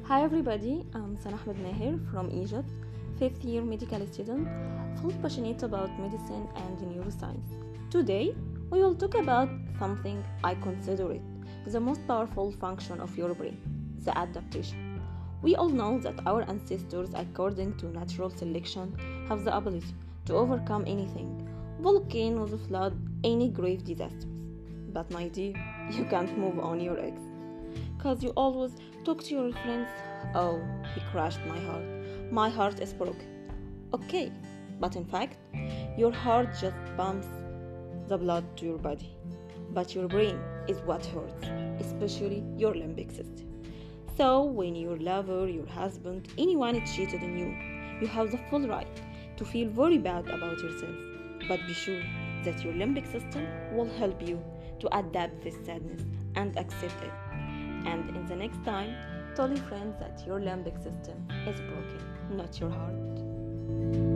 Hi everybody, I'm Sana Ahmed Maher from Egypt, fifth year medical student, full passionate about medicine and neuroscience. Today, we will talk about something I consider it the most powerful function of your brain, the adaptation. We all know that our ancestors, according to natural selection, have the ability to overcome anything volcanoes, flood, any grave disasters. But my dear, you can't move on your ex. Cause you always talk to your friends. Oh, he crushed my heart. My heart is broken. Okay, but in fact, your heart just pumps the blood to your body. But your brain is what hurts, especially your limbic system. So when your lover, your husband, anyone cheated on you, you have the full right to feel very bad about yourself. But be sure that your limbic system will help you to adapt this sadness and accept it. And in the next time, tell your friends that your limbic system is broken, not your heart.